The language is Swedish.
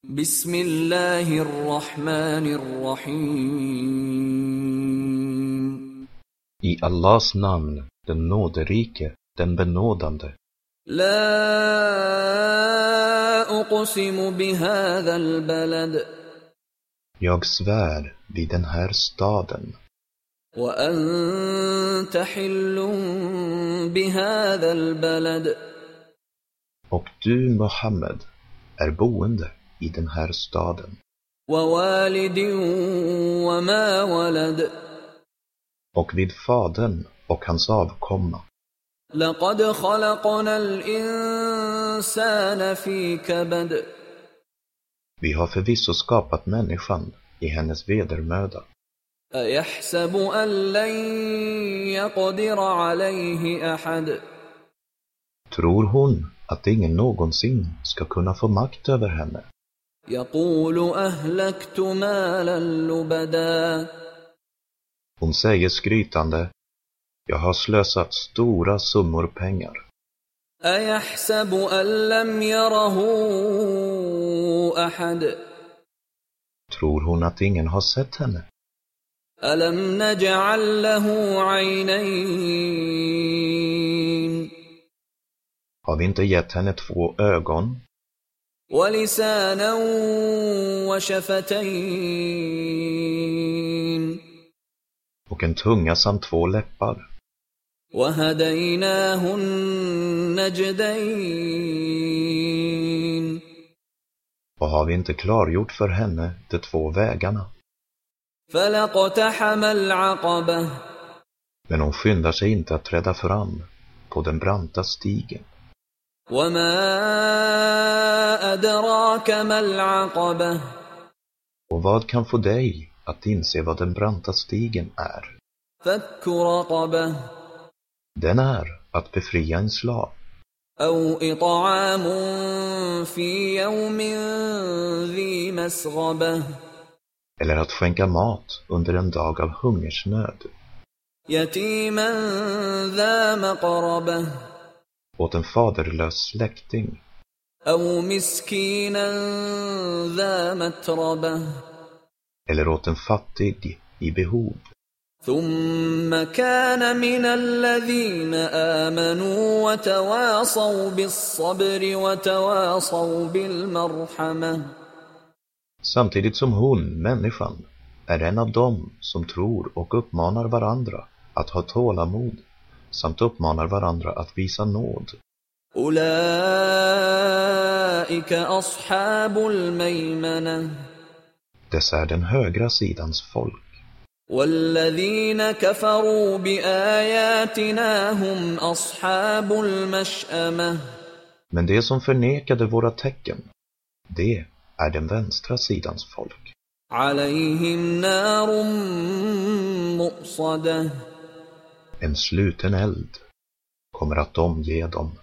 Bismillahirrahmanirrahim. I Allahs namn, den nåderike, den benådande. La uqsimu bihadha albalad. Jag svär vid den här staden. Wa anta hillun bihadha albalad. Och du, Muhammed, är boende i den här staden. Wa walidin wa ma walad. Och vid fadern och hans avkomma. Laqad khalaqna al-insana fi kabad. Vi har förvisso skapat människan i hennes vedermöda. Ayahsabu an lan yaqdira alayhi ahad. Tror hon att ingen någonsin ska kunna få makt över henne? Yaqulu ahlaktu malan lubada. Hon säger skrytande: jag har slösat stora summor pengar. Ayahsabu an lam yarahu ahad. Tror hon att ingen har sett henne? Alam naj'al lahu 'aynayn. Har vi inte gett henne 2 ögon? Wa lisanan wa shafatayn. Och en tunga samt 2 läppar. Wa hadaynahu najdayn. Och har vi inte klargjort för henne de 2 vägarna? Falaqtahama al-'aqabah. Men hon skyndar sig inte att träda fram på den branta stigen. Wa ma adraka ma al-'aqabah. Och vad kan få dig att inse vad den branta stigen är? Fakku raqabah. Den är att befria en slav. Aw it'amun fi yawmin dhi masghabah. Eller att skänka mat under en dag av hungersnöd. Yatiman dha maqrabah. Åt en faderlös släkting. Aw miskinan dha matrabah. Eller åt en fattig i behov. ثم كان من الذين آمنوا وتواصوا بالصبر وتواصوا بالمرحمة. Samtidigt som hon, människan, är en av dem som tror och uppmanar varandra att ha tålamod samt uppmanar varandra att visa nåd. Ulaika ashabul maymana. Dessa är den högra sidans folk. والذين كفروا بآياتنا هم أصحاب المشأمة. Men det som förnekade våra tecken, det är den vänstra sidans folk. عليهم نار مؤصدة. En sluten eld kommer att omge dem.